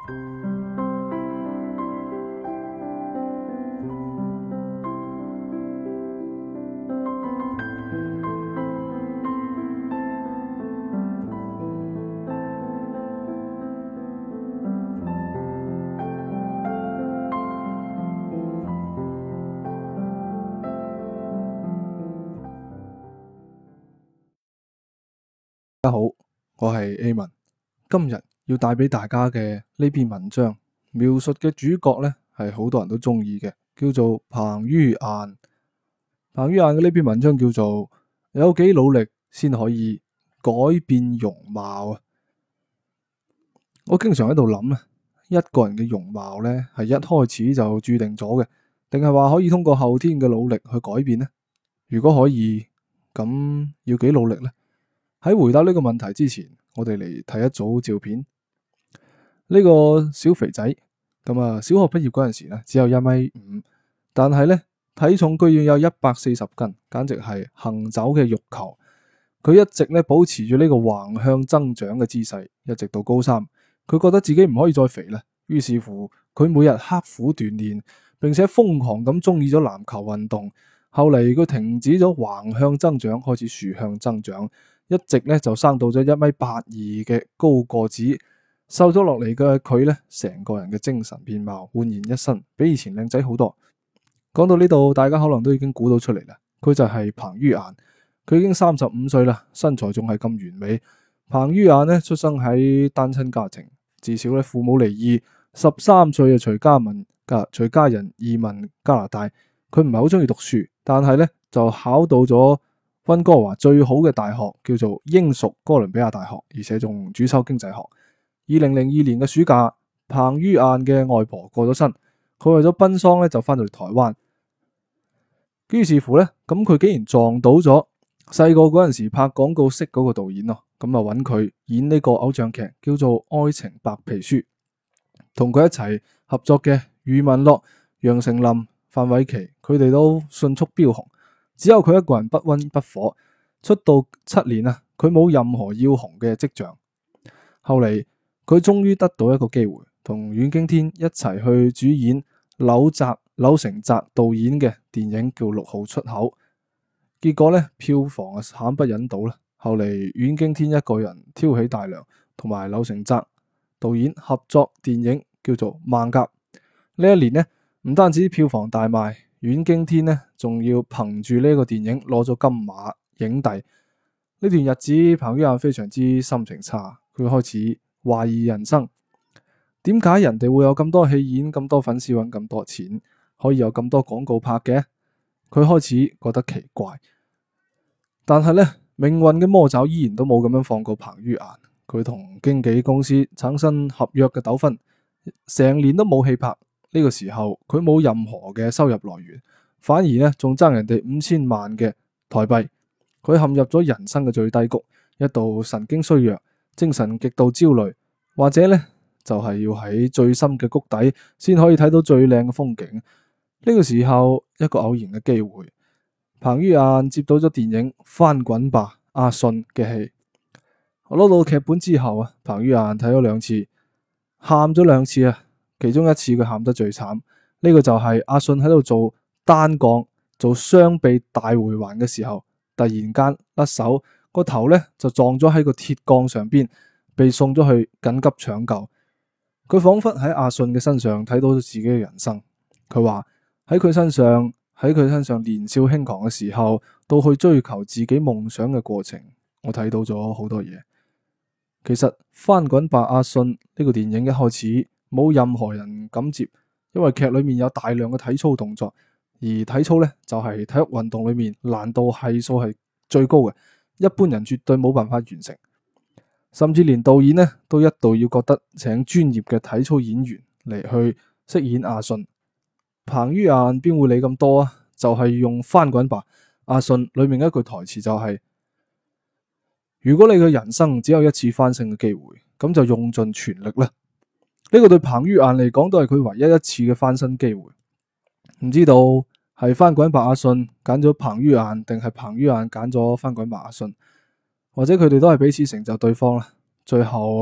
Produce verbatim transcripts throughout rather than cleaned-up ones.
大家好，我係 A 文，今日要帶俾大家嘅呢篇文章，描述嘅主角呢係好多人都中意嘅，叫做彭于晏。彭于晏嘅呢篇文章叫做有幾努力先可以改變容貌啊！我經常喺度諗啊，一個人嘅容貌呢係一開始就注定咗嘅，定係話可以通過後天嘅努力去改變呢？如果可以，咁要幾努力呢？喺回答呢個問題之前，我哋嚟睇一組照片。呢個小肥仔咁啊，小學畢業嗰陣時咧，只有一米五，但係咧體重居然有一百四十斤，簡直係行走嘅肉球。佢一直咧保持住呢個橫向增長嘅姿勢，一直到高三。佢覺得自己唔可以再肥啦，於是乎佢每日刻苦鍛煉，並且瘋狂咁中意咗籃球運動。後嚟佢停止咗橫向增長，開始豎向增長。一直咧就生到咗一米八二嘅高個子，瘦咗落嚟嘅佢咧，成個人嘅精神面貌煥然一新，比以前靚仔好多。講到呢度，大家可能都已經估到出嚟啦，佢就係彭于晏。佢已經三十五歲啦，身材仲係咁完美。彭于晏呢，出生喺單親家庭，至少咧父母離異，十三歲就隨家民家隨家人移民加拿大。佢唔係好中意讀書，但係咧就考到咗溫哥華最好嘅大學，叫做英屬哥倫比亞大學，而且仲主修經濟學。二零零二年嘅暑假，彭于晏嘅外婆過咗身，佢為咗奔喪咧就翻到嚟台灣。於是乎咧，咁佢竟然撞到咗細個嗰陣時拍廣告識嗰個導演咯，咁啊揾佢演呢個偶像劇，叫做《愛情白皮書》。同佢一齊合作嘅余文樂、楊丞琳、范瑋琪，佢哋都迅速飆紅。只有佢一個人不溫不火，出道七年啊，佢冇任何要紅嘅跡象。後嚟佢終於得到一個機會，同阮經天一齊去主演柳澤柳成澤導演嘅電影叫《六號出口》。結果咧票房啊慘不忍睹啦。後嚟阮經天一個人挑起大梁，同埋柳成澤導演合作電影叫做《艋舺》。呢一年呢，唔單止票房大賣，阮經天呢仲要憑住呢個電影攞咗金馬影帝。呢段日子，彭于晏非常之心情差，佢開始懷疑人生。點解人哋會有咁多戲演、咁多粉絲揾咁多錢，可以有咁多廣告拍嘅？佢開始覺得奇怪。但係呢，命運嘅魔爪依然都冇咁樣放過彭于晏。佢同經紀公司產生合約嘅糾紛，成年都冇戲拍。呢個時候佢冇任何嘅收入來源，反而咧仲爭人哋五千萬嘅台幣。佢陷入咗人生嘅最低谷，一度神經衰弱，精神極度焦慮，或者咧就係要喺最深嘅谷底先可以睇到最靚嘅風景。呢個時候一個偶然嘅機會，彭于晏接到咗電影《翻滾吧，阿信》嘅戲。我攞到劇本之後啊，彭于晏睇咗兩次，喊咗兩次啊。其中一次佢喊得最慘，呢、這個就係阿信喺度做單槓做雙臂大回環嘅時候，突然間甩手，個頭咧就撞咗喺個鐵槓上邊，被送咗去緊急搶救。佢仿佛喺阿信嘅身上睇到咗自己嘅人生。佢話喺佢身上喺佢身上年少輕狂嘅時候，到去追求自己夢想嘅過程，我睇到咗好多嘢。其實翻滾吧阿信呢個電影一開始冇任何人敢接，因為劇裏面有大量嘅體操動作，而體操咧就係體育運動裏面難度係數係最高嘅，一般人絕對冇辦法完成。甚至連導演咧都一度要覺得請專業嘅體操演員嚟去飾演阿信。彭于晏邊會理咁多啊？就係用翻滾吧阿信裏面一句台詞就係：如果你嘅人生只有一次翻身嘅機會，咁就用盡全力啦。呢個對彭于晏嚟講都係佢唯一一次嘅翻身機會。唔知道係翻滾吧阿信揀咗彭于晏，定係彭于晏揀咗翻滾吧阿信，或者佢哋都係彼此成就對方啦。最後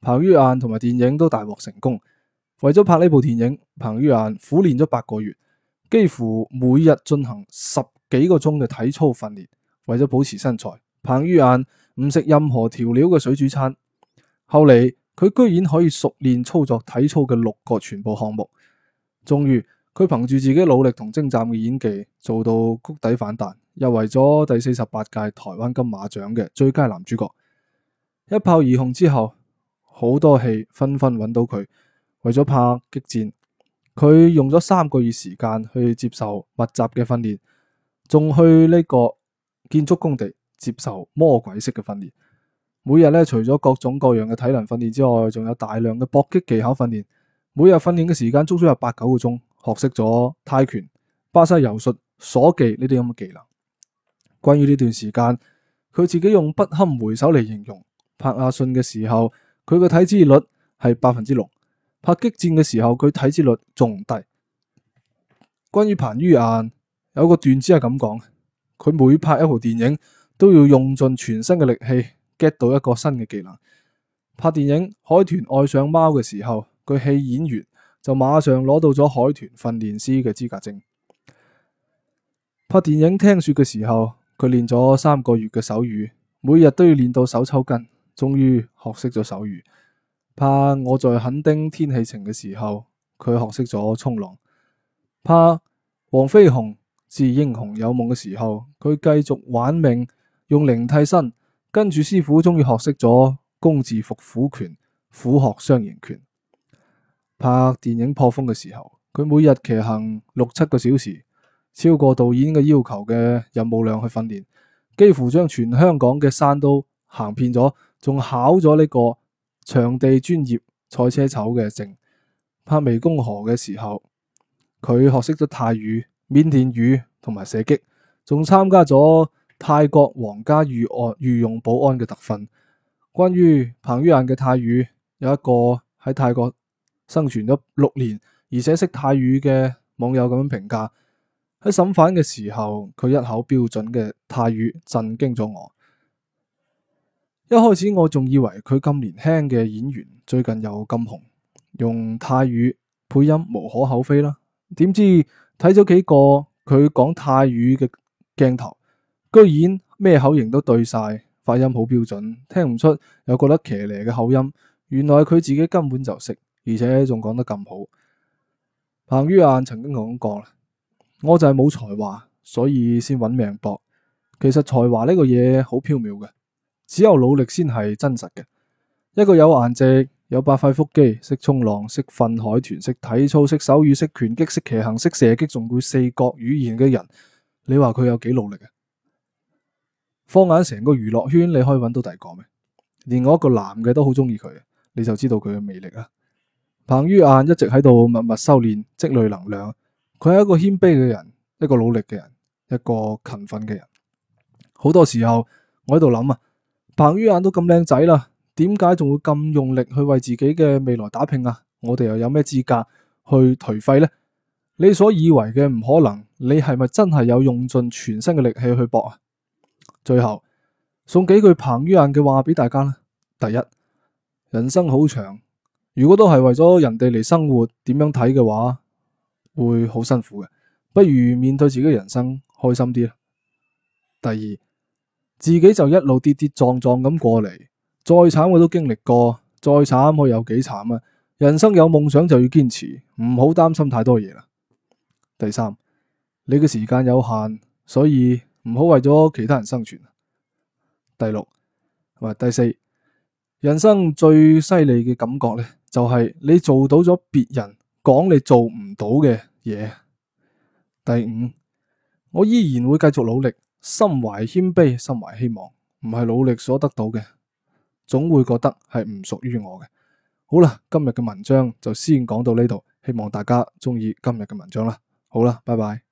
彭于晏同埋電影都大獲成功。為咗拍呢部電影，彭于晏苦練咗八個月，幾乎每日進行十幾個鐘嘅體操訓練。為咗保持身材，彭于晏唔食任何調料嘅水煮餐。後嚟佢居然可以熟練操作體操嘅六個全部項目。終於佢憑住自己努力同精湛嘅演技做到谷底反彈，入圍咗第四十八屆台灣金馬獎嘅最佳男主角。一炮而紅之後，好多戲紛紛揾到佢。為咗拍激戰，佢用咗三個月時間去接受密集嘅訓練，仲去呢個建築工地接受魔鬼式嘅訓練。每日咧，除咗各種各樣嘅體能訓練之外，仲有大量嘅搏擊技巧訓練。每日訓練嘅時間足足有八九個鐘，學識咗泰拳、巴西柔術、鎖技呢啲咁嘅技能。關於呢段時間，佢自己用不堪回首嚟形容。拍阿信嘅時候，佢嘅體脂率係百分之六。拍激戰嘅時候，佢體脂率仲低。關於彭于晏，有個段子係咁講：佢每拍一部電影都要用盡全身嘅力氣 get 到一個新嘅技能。拍電影《海豚愛上貓》嘅時候，佢戲演完就馬上攞到咗海豚訓練師嘅資格證。拍電影《聽說》嘅時候，佢練咗三個月嘅手語，每日都要練到手抽筋，終於學識咗手語。拍我在墾丁天氣晴嘅時候，佢學識咗衝浪。拍黃飛鴻致英雄有夢嘅時候，佢繼續玩命用零替身，跟住師傅終於學識咗工字伏虎拳、虎鶴雙形拳。拍電影破風嘅時候，佢每日騎行六七個小時，超過導演嘅要求嘅任務量去訓練，幾乎將全香港嘅山都行遍咗，仲考咗呢個場地專業賽車手嘅證。拍湄公河嘅時候，佢學識咗泰語、緬甸語同埋射擊，仲參加咗泰國皇家御案御用保安嘅特訓。關於彭于晏嘅泰語，有一個喺泰國生存咗六年而且識泰語嘅網友咁樣評價：喺審犯嘅時候，佢一口標準嘅泰語震驚咗我。一開始我仲以為佢咁年輕嘅演員最近又咁紅，用泰語配音無可厚非啦。點知睇咗幾個佢講泰語嘅鏡頭，居然咩口型都對晒，發音好標準，聽唔出又覺得騎呢嘅口音。原來佢自己根本就識，而且仲講得咁好。彭于晏曾經講過啦，我就係冇才華，所以先揾命搏。其實才華呢個嘢好縹緲嘅，只有努力先係真實嘅。一個有顏值、有八塊腹肌、識衝浪、識訓海豚、識體操、識手語、識拳擊、識騎行、識射擊，仲會四國語言嘅人，你話佢有幾努力啊？放眼成個娛樂圈，你可以揾到第二個咩？連我一個男嘅都好中意佢，你就知道佢嘅魅力啦。彭于晏一直喺度默默修煉，積累能量。佢係一個謙卑嘅人，一個努力嘅人，一個勤奮嘅人。好多時候我喺度諗啊，彭于晏都咁靚仔啦，點解仲會咁用力去為自己嘅未來打拼啊？我哋又有咩資格去頹廢呢？你所以為嘅唔可能，你係咪真係有用盡全身嘅力氣去搏啊？最後送幾句彭于晏嘅話俾大家啦。第一，人生好長，如果都係為咗人哋嚟生活，點樣睇嘅話，會好辛苦嘅。不如面對自己人生，開心啲啦。第二，自己就一路跌跌撞撞咁過嚟，再慘我都經歷過，再慘我有幾慘啊！人生有夢想就要堅持，唔好擔心太多嘢啦。第三，你嘅時間有限，所以唔好為咗其他人生存。第六，同埋第四，人生最犀利嘅感覺呢，就係你做到咗別人講你做唔到嘅嘢。第五，我依然會繼續努力，心懷謙卑，心懷希望，唔係努力所得到嘅，總會覺得係唔屬於我嘅。好啦，今日嘅文章就先講到呢度，希望大家中意今日嘅文章啦。好啦，拜拜。